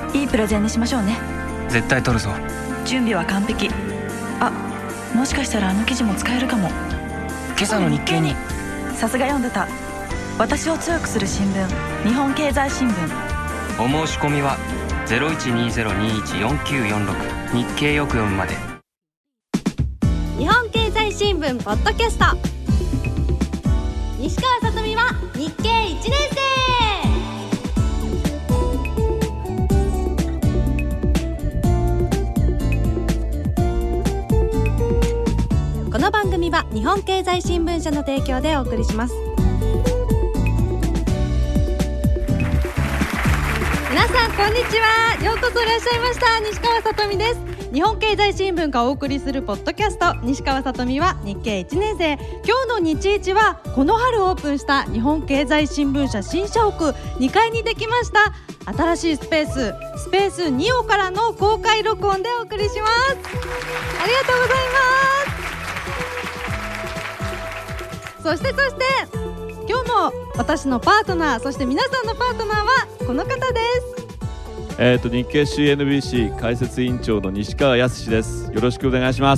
いいプレゼンにしましょうね。 絶対取るぞ。 準備は完璧。あ、もしかしたらあの記事も使えるかも。 今朝の日経に。 さすが読んでた。私を強くする新聞、日本経済新聞。 お申し込みは 0120214946 日経よく読むまで。 日本経済新聞ポッドキャスト、西川さとみは日経1年生。この番組は日本経済新聞社の提供でお送りします。皆さんこんにちは。ようこそいらっしゃいました。西川さとみです。日本経済新聞がお送りするポッドキャスト、西川さとみは日経1年生。今日の日一はこの春オープンした日本経済新聞社新社屋2階にできました新しいスペース2オからの公開録音でお送りします。ありがとうございます。そして今日も私のパートナー、そして皆さんのパートナーはこの方です。 日経 CNBC 解説委員長の西川康です。よろしくお願いします。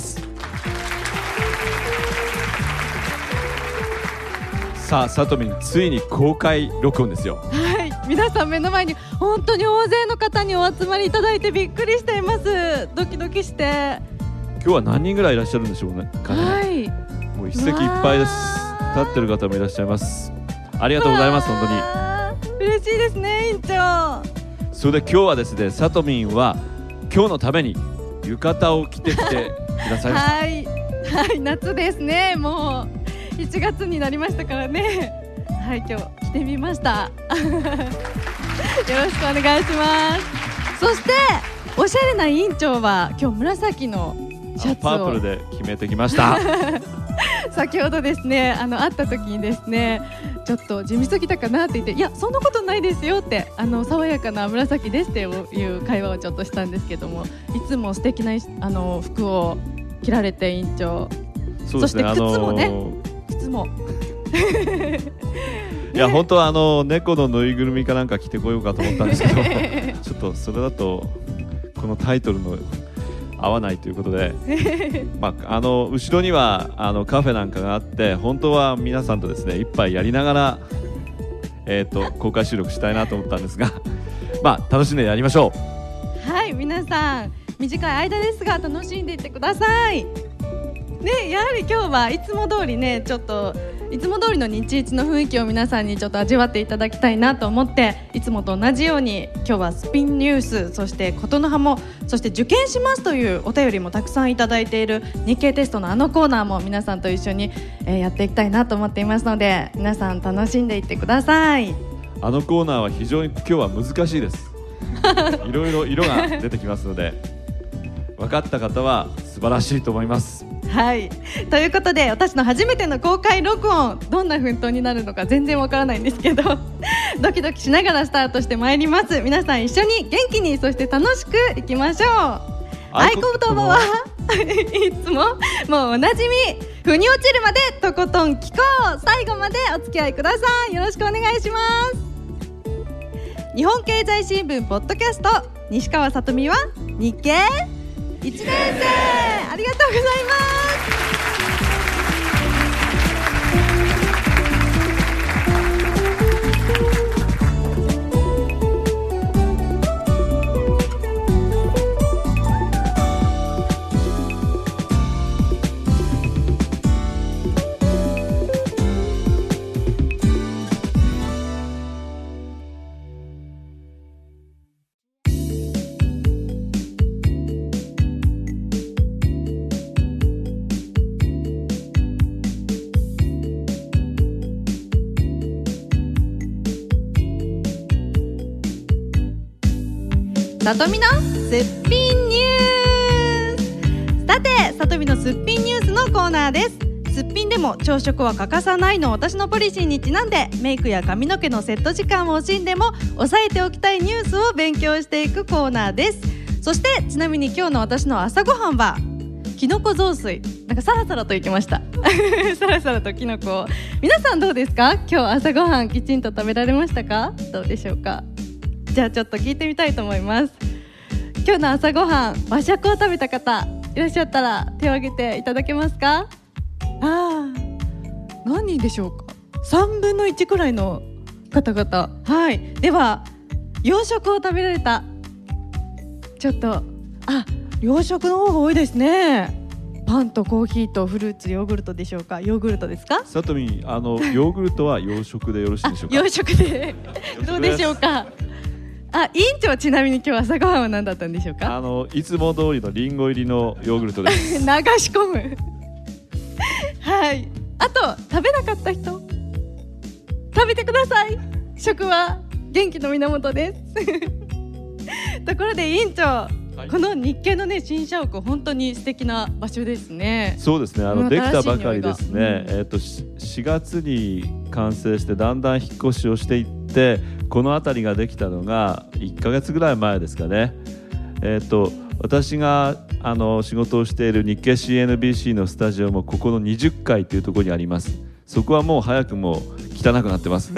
さあ、さとみん、ついに公開録音ですよ。 はい、皆さん目の前に本当に大勢の方にお集まりいただいてびっくりしています。ドキドキして。 今日は何人ぐらいいらっしゃるんでしょうね。 はい、 もう一席いっぱいです。立ってる方もいらっしゃいます。ありがとうございます。本当に嬉しいですね、委員長。 それで今日はですね、さとみんは今日のために浴衣を着てきてくださいました。 はい、夏ですね。もう1月になりましたからね。はい、今日着てみました。よろしくお願いします。そしておしゃれな委員長は今日紫のシャツをパープルで決めてきました。 先ほどですね、会った時にですね、ちょっと地味すぎたかなって言って、いやそんなことないですよって、爽やかな紫ですっていう会話をちょっとしたんですけども、いつも素敵な服を着られて、委員長。 そうですね、 そして靴もね、靴もいや本当は猫のぬいぐるみかなんか着てこようかと思ったんですけどちょっとそれだとこのタイトルの合わないということで後ろにはカフェなんかがあって、本当は皆さんとですね一杯やりながら、公開収録したいなと思ったんですが楽しんでやりましょう。はい、皆さん短い間ですが楽しんでいってくださいね。やはり今日はいつも通りね、ちょっといつも通りの日一の雰囲気を皆さんにちょっと味わっていただきたいなと思って、いつもと同じように今日はスピンニュース、そしてことの葉も、そして受験しますというお便りもたくさんいただいている日経テストのコーナーも皆さんと一緒に、やっていきたいなと思っていますので、皆さん楽しんでいってください。 コーナーは非常に今日は難しいですいろいろ色が出てきますので分かった方は素晴らしいと思います。 はい、ということで私の初めての公開録音、どんな奮闘になるのか全然わからないんですけどドキドキしながらスタートしてまいります。皆さん一緒に元気に、そして楽しくいきましょう。合言葉はいつももうおなじみ、腑に落ちるまでとことん聞こう。最後までお付き合いください。よろしくお願いします。日本経済新聞ポッドキャスト、西川さとみは日経1年生。ありがとうございます。さとみのすっぴんニュース。さて、さとみのすっぴんニュースのコーナーです。すっぴんでも朝食は欠かさないの私のポリシーにちなんで、メイクや髪の毛のセット時間を惜しんでも押さえておきたいニュースを勉強していくコーナーです。そしてちなみに今日の私の朝ごはんはきのこ雑炊。なんかサラサラといきましたサラサラときのこ。皆さんどうですか？今日朝ごはんきちんと食べられましたか？どうでしょうか？ じゃあちょっと聞いてみたいと思います。今日の朝ごはん和食を食べた方いらっしゃったら手を挙げていただけますか？何人でしょうか。3分の1くらいの方々。はい、では洋食を食べられた、ちょっと洋食の方が多いですね。パンとコーヒーとフルーツ、ヨーグルトでしょうか。ヨーグルトですか？ さとみ、ヨーグルトは洋食でよろしいでしょうか？ 洋食でどうでしょうか。委員長はちなみに今日朝ごはんは何だったんでしょうか？ いつも通りのリンゴ入りのヨーグルトです流し込むはい、あと食べなかった人食べてください。食は元気の源ですところで委員長、この日経のね新社屋、本当に素敵な場所ですね。 そうですね、できたばかりですね、4月に完成してだんだん引っ越しをしていって、この辺りができたのが1ヶ月ぐらい前ですかね。私が仕事をしている日経 CNBC のスタジオもここの20階というところにあります。そこはもう早くも汚くなってます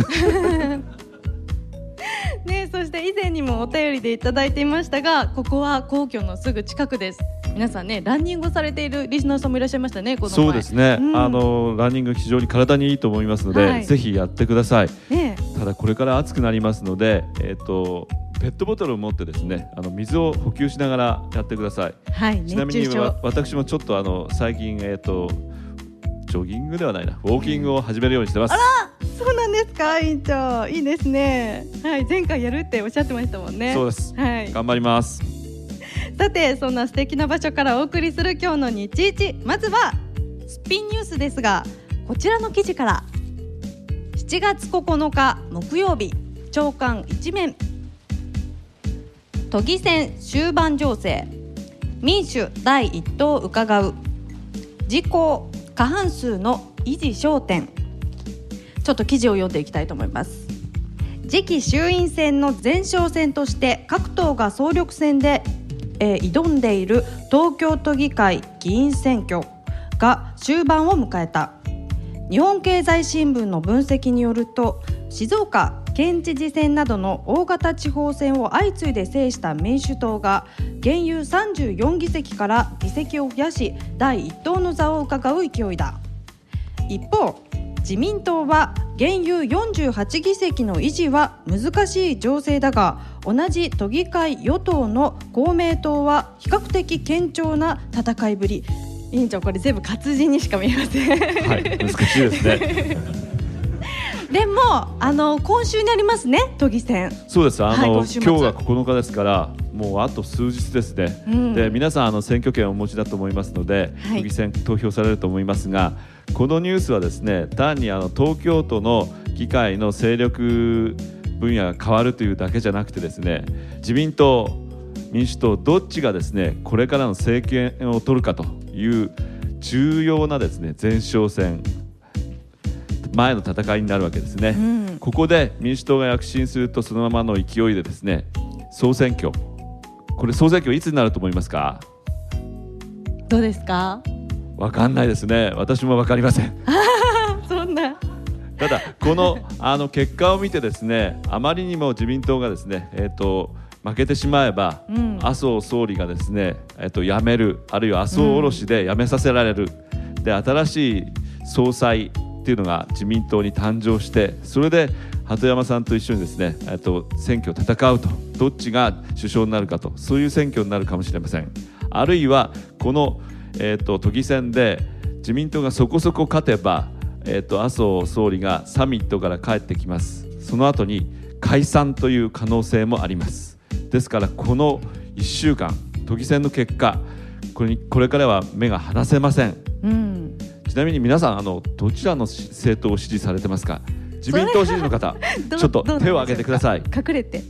ね、そして以前にもお便りでいただいていましたが、ここは皇居のすぐ近くです。皆さんね、ランニングをされているリスナーさんもいらっしゃいましたね、この前。 そうですね、ランニング非常に体にいいと思いますので、ぜひやってください、ただこれから暑くなりますので、ペットボトルを持ってですね、水を補給しながらやってください、ちなみに私もちょっと最近、ジョギングではないな、ウォーキングを始めるようにしてます。 あら、そうなんですか、委員長。いいですね。はい、前回やるっておっしゃってましたもんね。 そうです、 はい、 頑張ります。 さて、そんな素敵な場所からお送りする今日の日一、まずはスピンニュースですが、こちらの記事から。7月9日木曜日、朝刊一面、都議選終盤情勢、民主第一党伺う、自公過半数の維持焦点。ちょっと記事を読んでいきたいと思います。次期衆院選の前哨戦として各党が総力戦で、挑んでいる東京都議会議員選挙が終盤を迎えた。日本経済新聞の分析によると、静岡県知事選などの大型地方選を相次いで制した民主党が現有34議席から議席を増やし、第一党の座を伺う勢いだ。一方、自民党は現有48議席の維持は難しい情勢だが、同じ都議会与党の公明党は比較的堅調な戦いぶり。委員長、これ全部活字にしか見えませんはい、難しいですねでも今週にありますね、都議選。 そうです、今日が9日ですから、もうあと数日ですね、で皆さん選挙権をお持ちだと思いますので、都議選投票されると思いますが、このニュースはですね、単に東京都の議会の勢力分野が変わるというだけじゃなくてですね、自民党民主党どっちがですねこれからの政権を取るかという重要なですね前哨戦前の戦いになるわけですね、ここで民主党が躍進すると、そのままの勢いでですね総選挙、これ総選挙いつになると思いますか？ どうですか？ わかんないですね、私もわかりませんそんな。 ただこの結果を見てですね、あまりにも自民党がですね、負けてしまえば、麻生総理がですね、辞める、あるいは麻生おろしで辞めさせられる、で新しい総裁っていうのが自民党に誕生して、それで鳩山さんと一緒にですね、選挙を戦うと、どっちが首相になるかと、そういう選挙になるかもしれません。あるいはこの、都議選で自民党がそこそこ勝てば、麻生総理がサミットから帰ってきます。その後に解散という可能性もあります。ですからこの1週間都議選の結果、これからは目が離せません、ちなみに皆さんどちらの政党を支持されてますか？自民党支持の方ちょっと手を挙げてください。 隠れて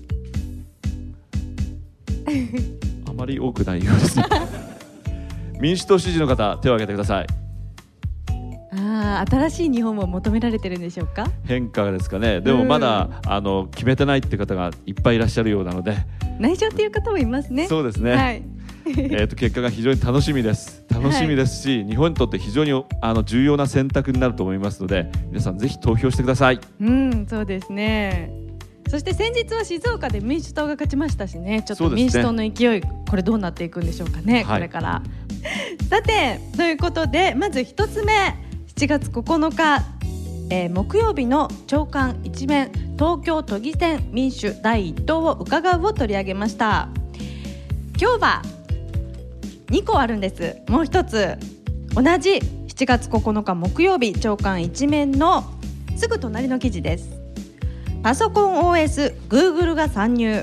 あまり多くないようです民主党支持の方手を挙げてください。 新しい日本を求められてるんでしょうか？ 変化ですかね。でもまだ決めてないって方がいっぱいいらっしゃるようなので、 内緒っていう方もいますね。 そうですね、はい結果が非常に楽しみですし、日本にとって非常に重要な選択になると思いますので、皆さんぜひ投票してください。 そうですね。 そして先日は静岡で民主党が勝ちましたしね、ちょっとそうですね民主党の勢い、これどうなっていくんでしょうかね、 はいこれからさてということで、まず一つ目、7月9日、木曜日の朝刊一面、東京都議選民主第一党を伺うを取り上げました。今日は2個あるんです。もう一つ、同じ7月9日木曜日朝刊一面のすぐ隣の記事です。パソコン OS Google が参入、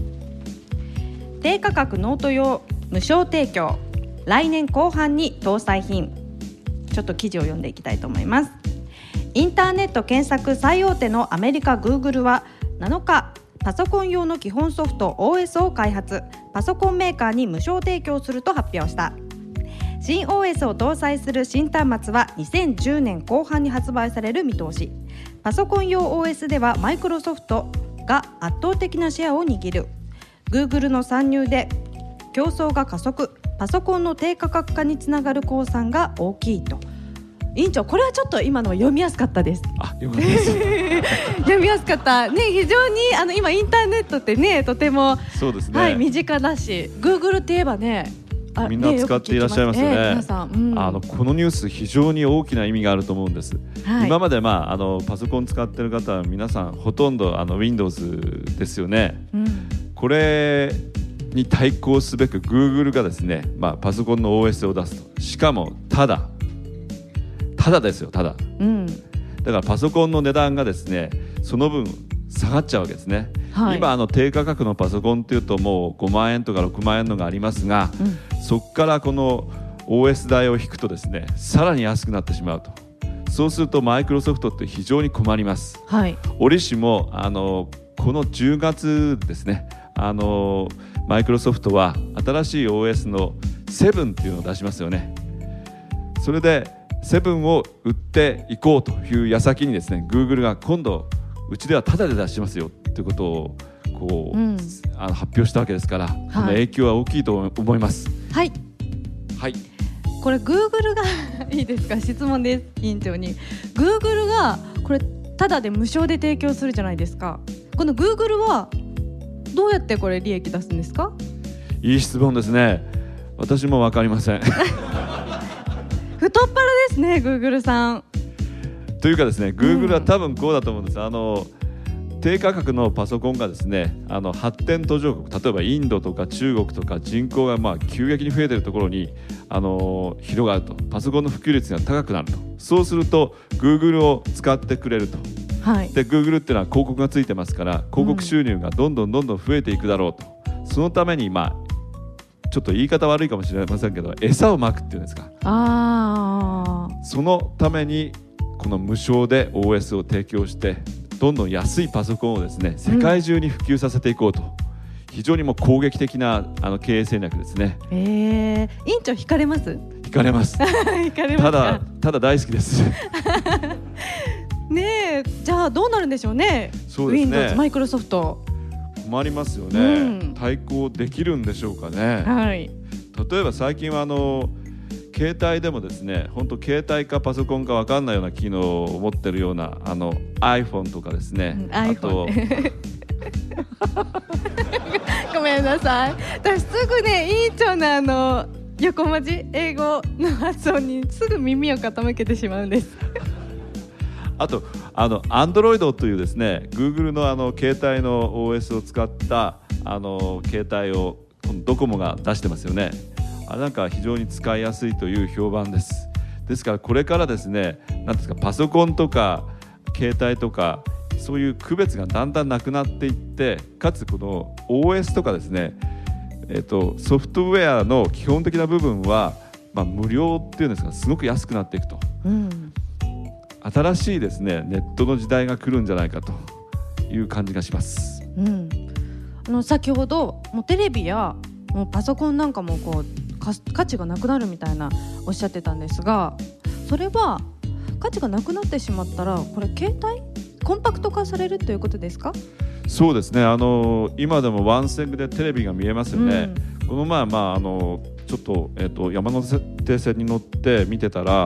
低価格ノート用無償提供、来年後半に搭載品。ちょっと記事を読んでいきたいと思います。インターネット検索最大手のアメリカ Google は7日、パソコン用の基本ソフト OS を開発、パソコンメーカーに無償提供すると発表した。新 OS を搭載する新端末は2010年後半に発売される見通し。パソコン用 OS ではマイクロソフトが圧倒的なシェアを握る。 Google の参入で競争が加速、パソコンの低価格化につながる公算が大きいと。委員長、これはちょっと今の読みやすかったです。 よかったです読みやすかったね。非常に今インターネットってね、とても、 そうですね、 はい、身近だし、 Google って言えばね、 みんな使っていらっしゃいますよね。 皆さん、 このニュース非常に大きな意味があると思うんです。 はい、 今まで、パソコン使っている方は皆さんほとんどWindows ですよね。これに対抗すべく Google がですね、パソコンの OS を出すと。しかもただですよ、ただ。だからパソコンの値段がですね、その分下がっちゃうわけですね。はい、今低価格のパソコンっていうともう5万円とか6万円のがありますが、そこからこの OS 代を引くとですね、さらに安くなってしまうと。そうするとマイクロソフトって非常に困ります。はい、折しもこの10月ですね、マイクロソフトは新しい OS の7っていうのを出しますよね。それで7を売っていこうという矢先にですね、 Google が今度うちではタダで出しますよということを発表したわけですから、この影響は大きいと思います。はい、はい、これ Google がいいですか、質問です。委員長に Google がこれタダで無償で提供するじゃないですか。この Google はどうやってこれ利益出すんですか？ いい質問ですね。私も分かりません太っ腹ですね、Google さん。 というかですね、Google は多分こうだと思うんです。低価格のパソコンがですね、発展途上国、例えばインドとか中国とか人口が急激に増えているところに広がると、パソコンの普及率が高くなると。そうすると Google を使ってくれると。はい、で Google っていうのは広告がついてますから、広告収入がどんどん増えていくだろうと。そのためにちょっと言い方悪いかもしれませんけど、餌をまくっていうんですか。そのためにこの無償で OS を提供してどんどん安いパソコンをですね、世界中に普及させていこうと。非常にもう攻撃的な経営戦略ですね。委員長惹かれます？ 惹かれます惹かれますか？ ただ大好きですねえ、じゃあどうなるんでしょうね。 そうですね、 Windows、マイクロソフト困りますよね。対抗できるんでしょうかね。はい、例えば最近は携帯でもですね、本当携帯かパソコンか分かんないような機能を持ってるようなiPhone とかですね、あとごめんなさい、私すぐね、委員長の横文字英語の発音にすぐ耳を傾けてしまうんですあとAndroid というですね、 Google の携帯の OS を使った携帯をドコモが出してますよね。なんか非常に使いやすいという評判です。ですからこれからですね、なんですか、パソコンとか携帯とかそういう区別がだんだんなくなっていって、かつこの OS とかですね、ソフトウェアの基本的な部分は、無料っていうんですか、すごく安くなっていくと、新しいですね、ネットの時代が来るんじゃないかという感じがします。 先ほどもうテレビやもうパソコンなんかも価値がなくなるみたいなおっしゃってたんですが、それは価値がなくなってしまったら、これ携帯コンパクト化されるということですか？ そうですね、今でもワンセグでテレビが見えますよね。この前、ちょっと、山手線に乗って見てたら、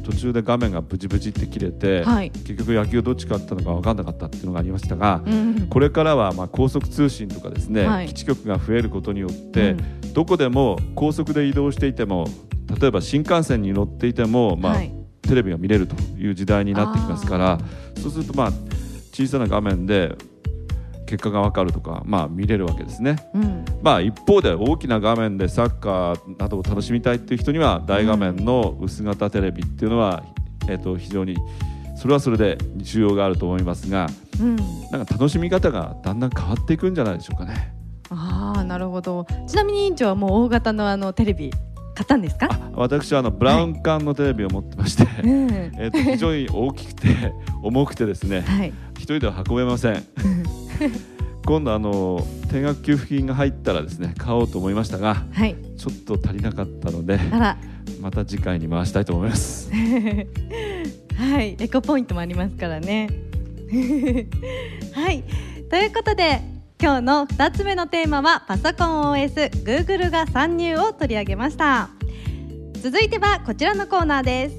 途中で画面がブチブチって切れて、 はい、 結局野球どっち勝ったのか分かんなかったっていうのがありましたが、 うんこれからは高速通信とかですね、 はい基地局が増えることによって、 うんどこでも高速で移動していても、例えば新幹線に乗っていても、 はいテレビが見れるという時代になってきますから、そうすると小さな画面で結果が分かるとか、見れるわけですね。 うん一方で大きな画面でサッカーなどを楽しみたいっていう人には大画面の薄型テレビっていうのは、非常にそれはそれで需要があると思いますが、 うんなんか楽しみ方がだんだん変わっていくんじゃないでしょうかね。 なるほど。ちなみに委員長はもう大型のテレビ買ったんですか？ 私はブラウン管のテレビを持ってまして、 うん非常に大きくて重くてですね、 はい一人では運べません今度定額給付金が入ったらですね買おうと思いましたが、 はい、 ちょっと足りなかったのであらまた次回に回したいと思いますはい、エコポイントもありますからねはい、ということで今日の2つ目のテーマはパソコン OS、Google が参入を取り上げました。続いてはこちらのコーナーです。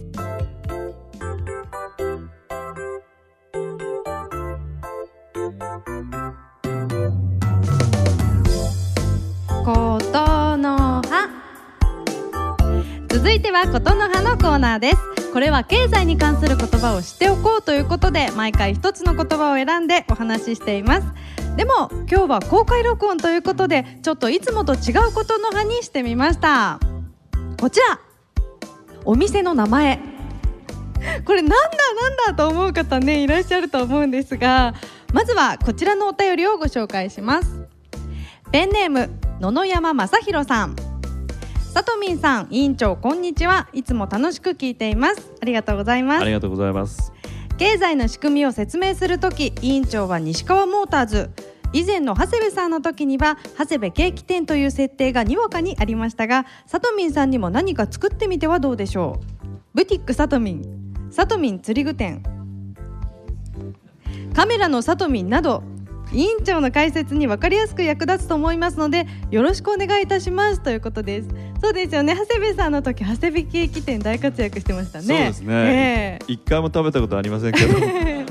ことの葉。続いてはことの葉のコーナーです。これは経済に関する言葉を知っておこうということで毎回一つの言葉を選んでお話ししています。でも今日は公開録音ということでちょっといつもと違うことの葉にしてみました。こちら、お店の名前。これなんだと思う方ねいらっしゃると思うんですが、まずはこちらのお便りをご紹介します。ペンネーム野々山正弘さん。さとみんさん、委員長こんにちは。いつも楽しく聞いています。ありがとうございます。 ありがとうございます。 経済の仕組みを説明するとき、委員長は西川モーターズ、以前の長谷部さんの時には長谷部ケーキ店という設定がにわかにありましたが、さとみんさんにも何か作ってみてはどうでしょう。ブティックさとみん、さとみん釣り具店、カメラのさとみんなど、委員長の解説に分かりやすく役立つと思いますのでよろしくお願いいたしますということです。そうですよね、長谷部さんの時長谷部ケーキ店大活躍してましたね。 そうですね、一回も食べたことありませんけど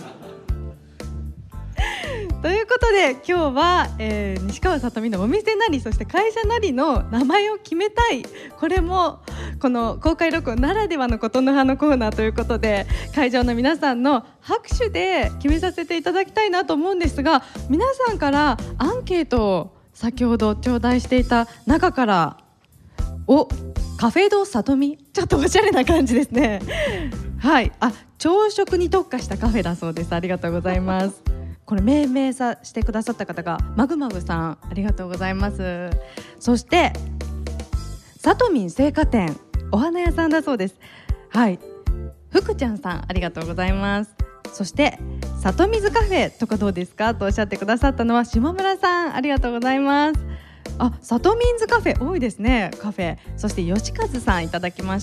ということで今日は、西川さとみのお店なりそして会社なりの名前を決めたい、これもこの公開録音ならではのことの葉のコーナーということで会場の皆さんの拍手で決めさせていただきたいなと思うんですが、皆さんからアンケートを先ほど頂戴していた中からカフェドさとみ、ちょっとおしゃれな感じですねはい、朝食に特化したカフェだそうです。ありがとうございますこれ命名してくださった方がマグマグさん、ありがとうございます。そしてさとみん青果店、お花屋さんだそうです。はい、福ちゃんさん、ありがとうございます。そしてさとみずカフェとかどうですかとおっしゃってくださったのは島村さん、ありがとうございます。さとみんずカフェ多いですね、カフェ。そして吉和さんいただきました。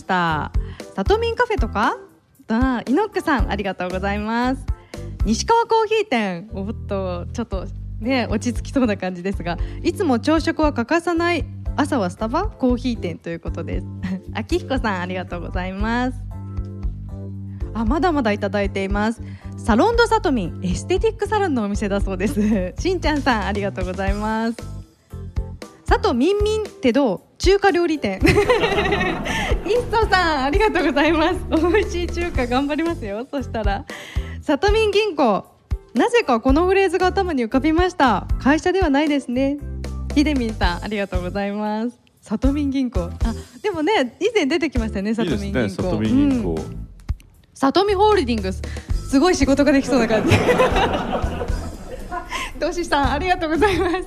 さとみんカフェとかイノックさん、ありがとうございます。西川コーヒー店、ちょっとね落ち着きそうな感じですが、いつも朝食は欠かさない、朝はスタバコーヒー店ということです秋彦さん、ありがとうございます。まだまだいただいています。サロンドさとみん、エステティックサロンのお店だそうですしんちゃんさん、ありがとうございます。さとみんみんってどう、中華料理店一層さん、ありがとうございます。美味しい中華頑張りますよ。そしたらさとみん銀行、なぜかこのフレーズが頭に浮かびました。会社ではないですね。ひでみんさん、ありがとうございます。さとみん銀行、でもね以前出てきましたね、さとみん銀行。いいですね、さとみん銀行、さとみホールディングス、すごい仕事ができそうな感じとしさん、ありがとうございます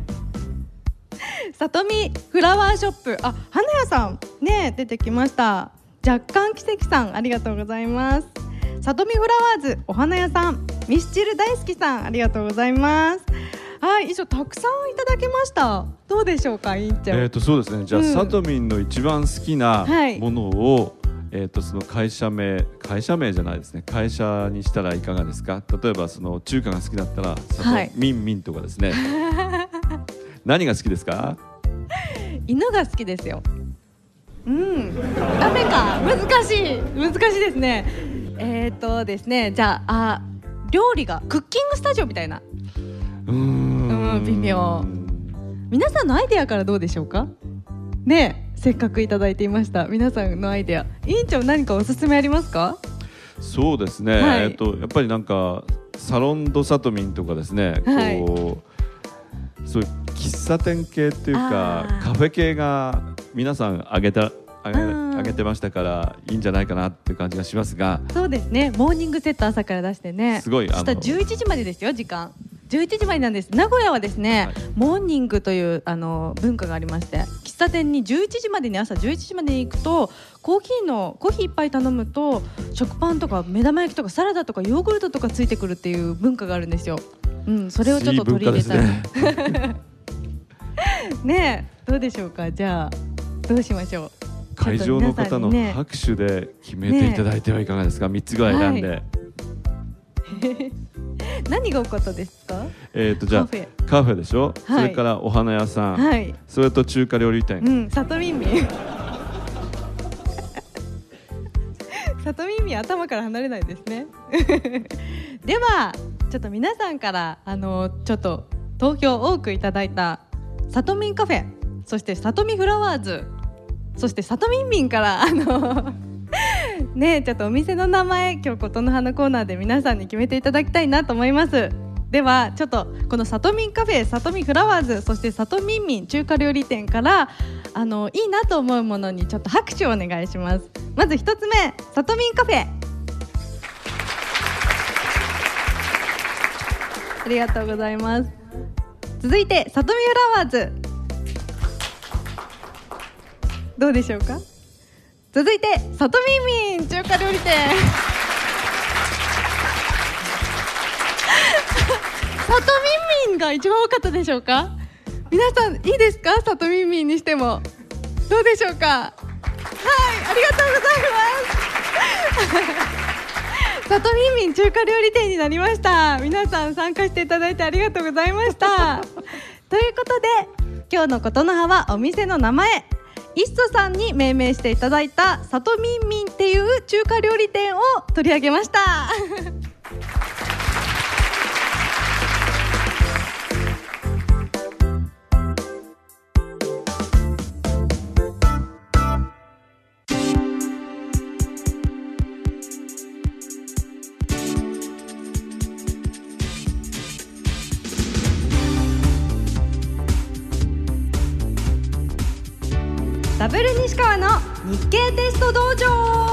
さとみフラワーショップ、花屋さんね出てきました。若干奇跡さん、ありがとうございます。さとみフラワーズ、お花屋さん、ミスチル大好きさん、ありがとうございます。以上たくさんいただきました。どうでしょうか、委員長。 そうですね、じゃあ、さとみんの一番好きなものを、その会社名じゃないですね、会社にしたらいかがですか。例えばその中華が好きだったらさとみんみんとかですね、何が好きですか。 犬が好きですよ。 ダメか、難しいですね。ですね、じゃあ料理がクッキングスタジオみたいな。微妙。皆さんのアイデアからどうでしょうかね。せっかくいただいていました。皆さんのアイデア、委員長何かおすすめありますか？ そうですね、 はい、 やっぱりなんかサロンドサトミンとかですね、 はい、 そういう喫茶店系っていうかカフェ系が皆さんあげてましたからいいんじゃないかなっていう感じがしますが。 そうですね、モーニングセット朝から出してね、 すごい明日11時までですよ。時間11時までなんです。名古屋はですね、はい、モーニングという文化がありまして、喫茶店に11時までに朝11時までに行くとコーヒー一杯頼むと食パンとか目玉焼きとかサラダとかヨーグルトとかついてくるっていう文化があるんですよ。それをちょっと取り入れたいねえ、どうでしょうか。じゃあどうしましょう。 会場の方の拍手で決めていただいてはいかがですか。3つぐらい選んで、 何が多かったですか？ じゃあカフェでしょ、はい、それからお花屋さん、はい、それと中華料理店、 さとみんみんさとみんみん頭から離れないですねではちょっと皆さんからちょっと投票多くいただいたさとみんカフェ、そしてさとみフラワーズ、そしてさとみんみんからね、ちょっとお店の名前、今日琴の葉のコーナーで皆さんに決めていただきたいなと思います。ではちょっとこのさとみんカフェ、さとみフラワーズ、そしてさとみんみん中華料理店からいいなと思うものにちょっと拍手をお願いします。まず一つ目、さとみんカフェ、ありがとうございます。続いてさとみフラワーズ、どうでしょうか。続いてさとみんみん中華料理店さとみんみんが一番多かったでしょうか。皆さんいいですか。さとみんみんにしてもどうでしょうか。はい、ありがとうございますさとみんみん中華料理店になりました。皆さん参加していただいてありがとうございましたということで今日の琴の葉はお店の名前、イッソさんに命名していただいたさとみんみんっていう中華料理店を取り上げましたダブル西川の日経テスト道場。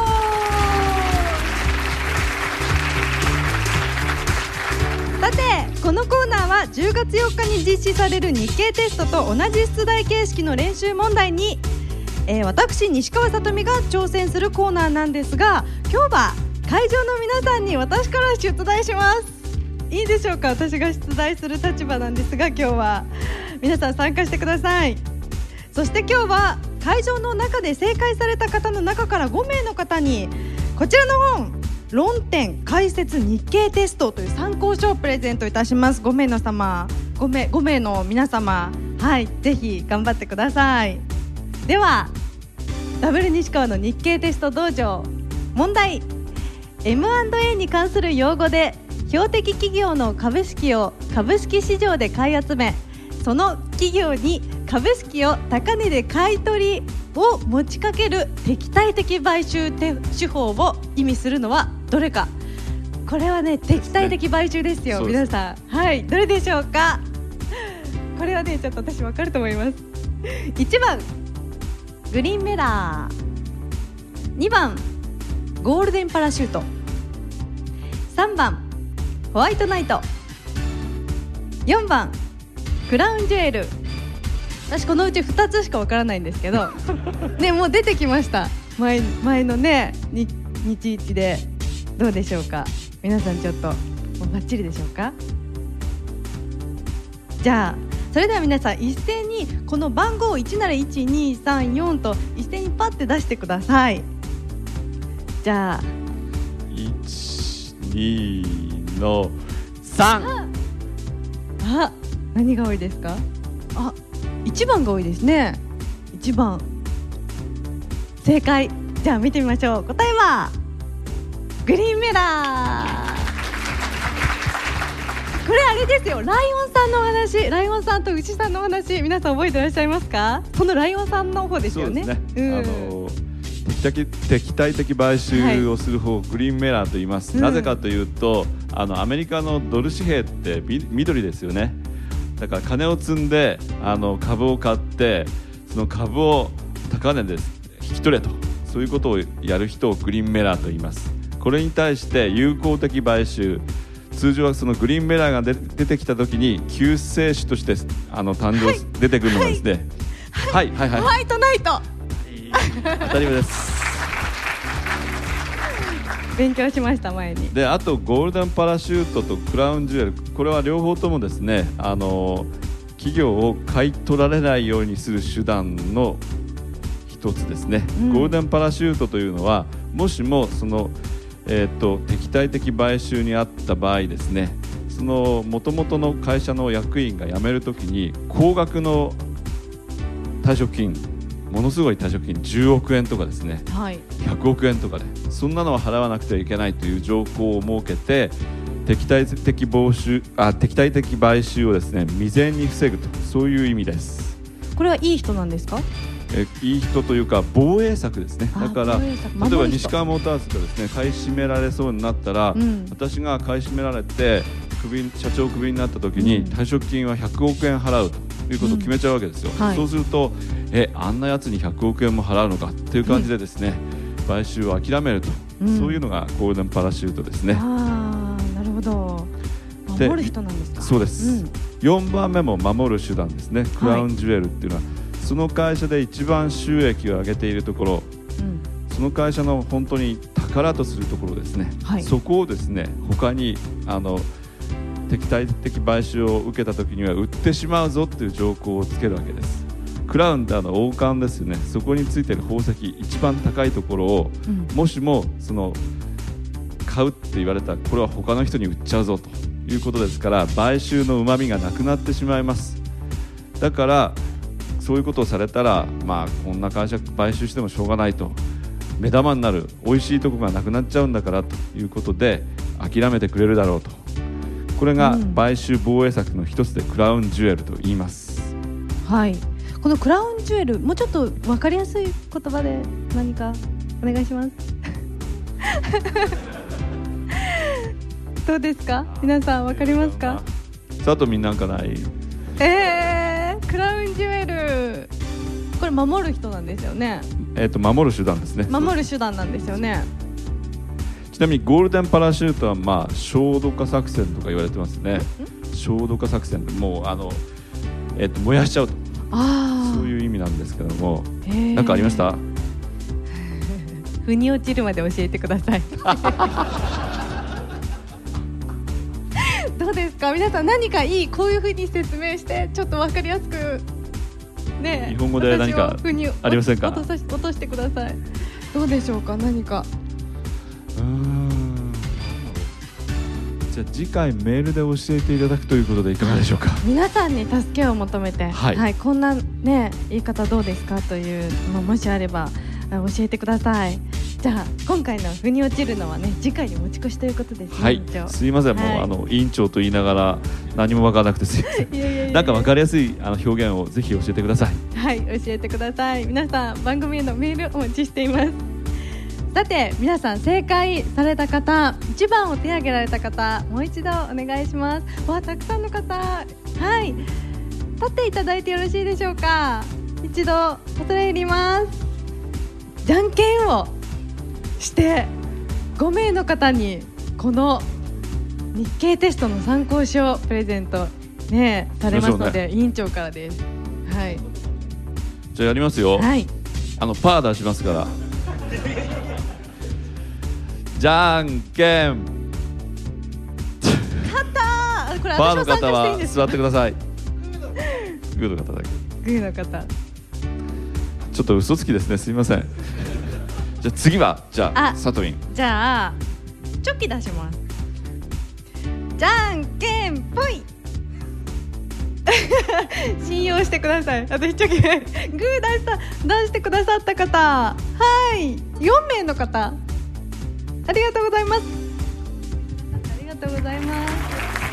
さてこのコーナーは10月4日に実施される日経テストと同じ出題形式の練習問題に、私西川さとみが挑戦するコーナーなんですが、今日は会場の皆さんに私から出題します。いいでしょうか。私が出題する立場なんですが、今日は皆さん参加してください。そして今日は会場の中で正解された方の中から5名の方にこちらの本、論点解説日経テストという参考書をプレゼントいたします。5名の皆様、はい、ぜひ頑張ってください。ではダブル西川の日経テスト道場、問題。 M&A に関する用語で標的企業の株式を株式市場で買い集め、その企業に株式を高値で買い取りを持ちかける敵対的買収手法を意味するのはどれか。これはね、敵対的買収ですよ、皆さん。はい、どれでしょうか。これはね、ちょっと私分かると思います。1番グリーンメラー、2番ゴールデンパラシュート、3番ホワイトナイト、4番クラウンジュエル。私このうち2つしかわからないんですけどね、もう出てきました。前のね日一で。どうでしょうか。皆さんちょっともうバッチリでしょうか。じゃあそれでは皆さん一斉にこの番号1なら1234と一斉にパッて出してください。じゃあ 12の3。 あ、何が多いですか。あ、1番が多いですね。1番正解。じゃあ見てみましょう。答えはグリーンメラー。これあれですよ、ライオンさんのお話、ライオンさんと牛さんのお話、皆さん覚えていらっしゃいますか？このライオンさんの方ですよね。 そうですね、敵対的買収をする方、グリーンメラーと言います、なぜかというとアメリカのドル紙幣って緑ですよね。だから金を積んで株を買って、その株を高値で引き取れと、そういうことをやる人をグリーンメラーと言います。これに対して友好的買収、通常はそのグリーンメラーが出てきたときに救世主として誕生、出てくるのがですね、ホワイトナイト当たり前です。 勉強しました前に。 で、あとゴールデンパラシュートとクラウンジュエル、これは両方ともですね、企業を買い取られないようにする手段の一つですね、ゴールデンパラシュートというのは、もしもその敵対的買収にあった場合ですね、その元々の会社の役員が辞めるときに高額の退職金、ものすごい退職金10億円とかですね、100億円とかで、そんなのは払わなくてはいけないという条項を設けて、敵対的買収をですね、未然に防ぐと、そういう意味です。 これはいい人なんですか？ いい人というか防衛策ですね。だから例えば西川モーターズがですね、買い占められそうになったら、私が買い占められて社長クビになった時に、退職金は100億円払うということを決めちゃうわけですよ。そうするとあんなやつに100億円も払うのかっていう感じでですね、買収を諦めると、そういうのがゴールデンパラシュートですね。 なるほど、守る人なんですか？ そうです、4番目も守る手段ですね。クラウンジュエルっていうのは、その会社で一番収益を上げているところ、その会社の本当に宝とするところですね、そこをですね、他に敵対的買収を受けた時には売ってしまうぞっていう条項をつけるわけです。クラウンって王冠ですよね、そこについている宝石一番高いところを、もしもその買うって言われたら、これは他の人に売っちゃうぞということですから、買収の旨味がなくなってしまいます。だからそういうことをされたら、こんな会社買収してもしょうがないと、目玉になる美味しいとこがなくなっちゃうんだからということで諦めてくれるだろうと、これが買収防衛策の一つでクラウンジュエルと言います。 このクラウンジュエル、もうちょっと分かりやすい言葉で何かお願いしますどうですか、皆さん分かりますか？ 佐藤みんなんかない？ クラウンジュエル、これ守る人なんですよね。 守る手段ですね。 守る手段なんですよね。 ちなみにゴールデンパラシュートは焦土化作戦とか言われてますね。焦土化作戦、もう燃やしちゃうと、そういう意味なんですけども、何かありました？ 腑に落ちるまで教えてくださいどうですか、皆さん、何かいい、こういう風に説明してちょっと分かりやすくね、 日本語で何かありませんか？ 落としてください。どうでしょうか、何か。 じゃあ次回メールで教えていただくということでいかがでしょうか？ 皆さんに助けを求めて、こんなね言い方どうですかというのもしあれば教えてください。じゃあ今回の腑に落ちるのはね、次回に持ち越しということですね。 すいません、もう委員長と言いながら何も分からなくてすいませんなんか分かりやすい表現をぜひ教えてください。 教えてください。皆さん、番組へのメールお待ちしています。さて、皆さん正解された方、1番を手挙げられた方、もう一度お願いします。たくさんの方、立っていただいてよろしいでしょうか。一度恐れ入ります。じゃんけんをして5名の方にこの日経テストの参考書をプレゼント、されますので、委員長からです。 じゃあやりますよ。パー出しますからじゃんけん勝ったこれパーの方は座ってください。グーの方だけ。 グーの方、 ちょっと嘘つきですね、すいません。じゃあ次は、サトイン。 じゃあチョキ出します。じゃんけんぽい信用してください。あと一生懸命グー出してくださった方、はい、4名の方、ありがとうございます。ありがとうございます。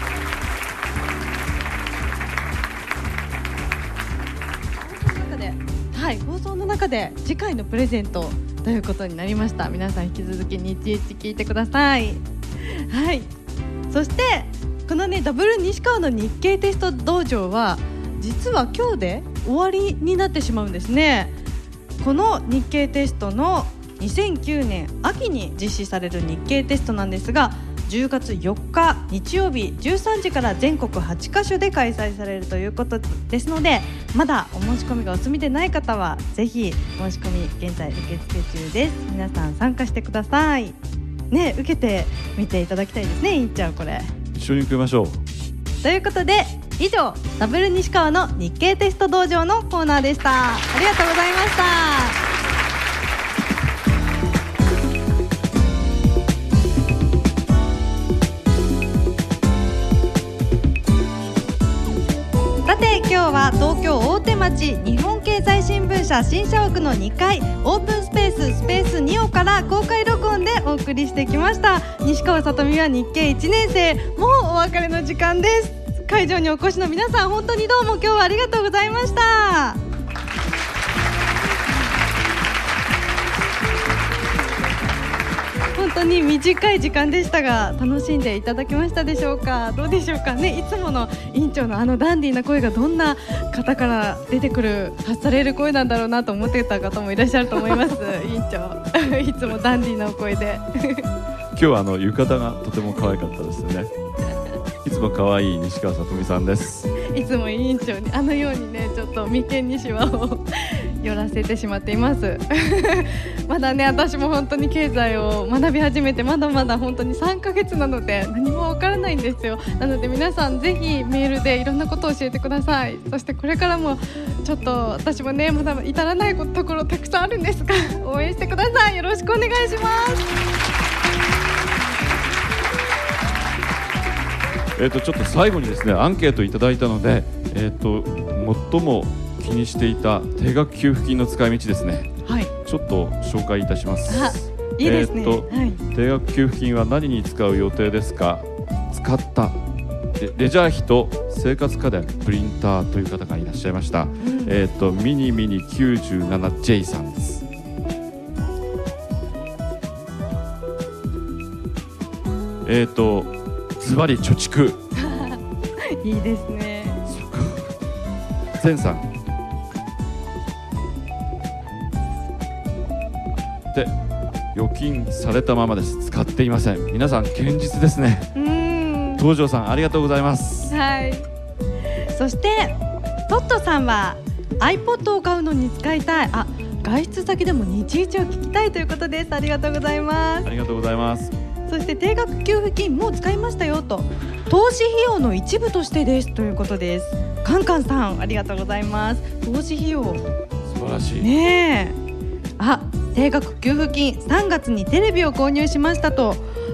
放送の中で次回のプレゼントということになりました。皆さん引き続き日一聞いてください。はい、そしてこのねダブル西川の日経テスト道場は実は今日で終わりになってしまうんですね。この日経テストの2009年秋に実施される日経テストなんですが、10月4日日曜日13時から全国8カ所で開催されるということですので、まだお申し込みがお済みでない方はぜひ申し込み現在受付中です。皆さん参加してくださいね。受けてみていただきたいですね。いっちゃんこれ一緒に受けましょう。 ということで以上ダブル西川の日経テスト道場のコーナーでした。ありがとうございました。今日は東京大手町日本経済新聞社新社屋の2階オープンスペース2をから公開録音でお送りしてきました。西川さとみは日経1年生、もうお別れの時間です。会場にお越しの皆さん本当にどうも今日はありがとうございました。本当に短い時間でしたが楽しんでいただけましたでしょうか。どうでしょうかね。いつもの委員長のダンディーな声がどんな方から出てくる発される声なんだろうなと思ってた方もいらっしゃると思います委員長いつもダンディーなお声で今日は浴衣がとても可愛かったですね。いつも可愛い西川さとみさんです。 いつも委員長にようにねちょっと眉間にシワを寄らせてしまっていますまだね私も本当に経済を学び始めてまだまだ本当に3ヶ月なので何もわからないんですよ。なので皆さんぜひメールでいろんなことを教えてください。そしてこれからもちょっと私もねまだ至らないところたくさんあるんですが応援してください。よろしくお願いします。 ちょっと最後にですねアンケートいただいたので、最も気にしていた定額給付金の使い道ですね、はい、ちょっと紹介いたします。 いいですね、はい、 定額給付金は何に使う予定ですか。使ったレジャー費と生活家電プリンターという方がいらっしゃいました、ミニミニ 97J さんです。ズバリ貯蓄いいですね。 ゼンさんで預金されたままです。使っていません。皆さん堅実ですね。東條さんありがとうございます。 はい。そしてトットさんは iPod を買うのに使いたい、外出先でも日一を聞きたいということです。ありがとうございます。 ありがとうございます。 そして定額給付金もう使いましたよと、投資費用の一部としてですということです。カンカンさんありがとうございます。投資費用素晴らしいね。定額給付金3月にテレビを購入しましたと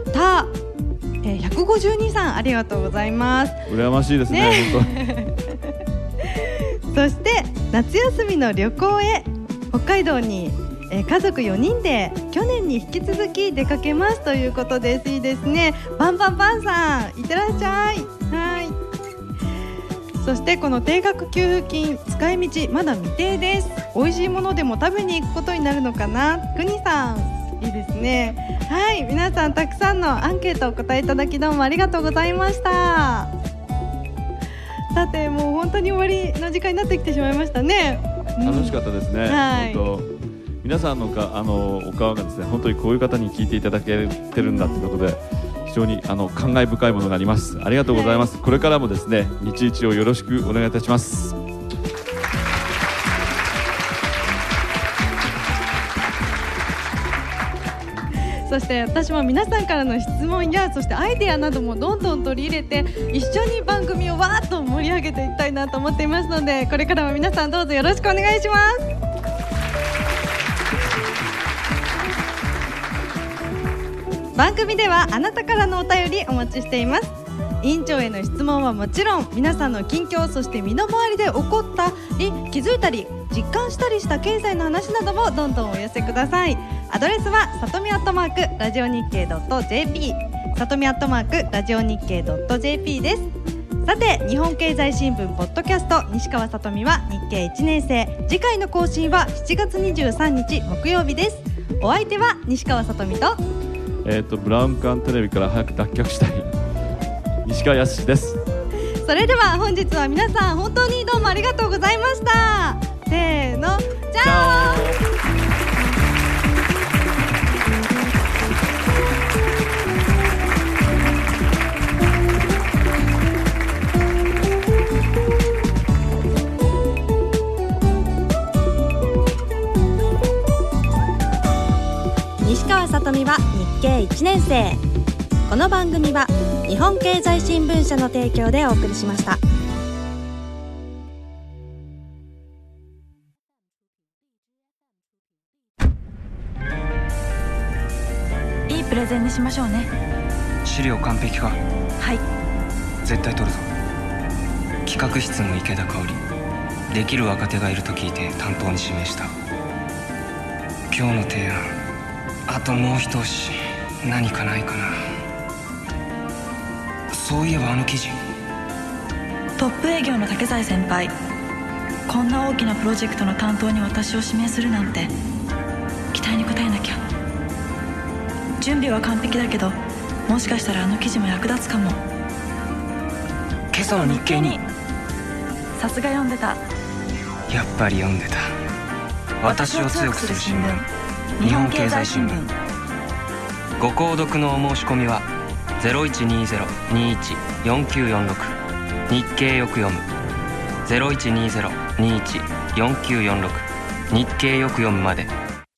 152さんありがとうございます。 羨ましいです ね本当そして夏休みの旅行へ北海道に家族4人で去年に引き続き出かけますということです。いいですね。バンバンバンさんいってらっしゃい。はい。そしてこの定額給付金使い道まだ未定です。美味しいものでも食べに行くことになるのかな。くにさんいいですね。はい、皆さんたくさんのアンケートをお答えいただきどうもありがとうございました。さてもう本当に終わりの時間になってきてしまいましたね。 楽しかったですね、 はい、 本当皆さんのお顔がですね本当にこういう方に聞いていただけてるんだということで非常に感慨深いものがあります。ありがとうございます、はい、これからもですね日一をよろしくお願いいたします。 そして私も皆さんからの質問やそしてアイデアなどもどんどん取り入れて一緒に番組をわーっと盛り上げていきたいなと思っていますのでこれからも皆さんどうぞよろしくお願いします。番組ではあなたからのお便りお待ちしています。 委員長への質問はもちろん、皆さんの近況、そして身の回りで起こったり気づいたり実感したりした経済の話などもどんどんお寄せください。アドレスはさとみ@ラジオ日経.jp、さとみ@ラジオ日経.jp です。さて、日本経済新聞ポッドキャスト、西川さとみは日経1年生。次回の更新は7月23日木曜日です。お相手は西川さとみとブラウン管テレビから早く脱却したい西川康です。 それでは本日は皆さん本当にどうもありがとうございました。せーの、じゃあ西川さとみは日経1年生。この番組は日本経済新聞社の提供でお送りしました。 いいプレゼンにしましょうね。 資料完璧か？ はい。 絶対取るぞ。企画室の池田香織、できる若手がいると聞いて担当に指名した。今日の提案、あともう一押し何かないかな。そういえばあの記事、 トップ営業の竹財先輩、こんな大きなプロジェクトの担当に私を指名するなんて、期待に応えなきゃ。準備は完璧だけど、もしかしたらあの記事も役立つかも。 今朝の日経に。 さすが読んでた。 やっぱり読んでた。私を強くする新聞、日本経済新聞。ご購読のお申し込みは0120-21-4946、日経よく読む 0120-21-4946、日経よく読むまで。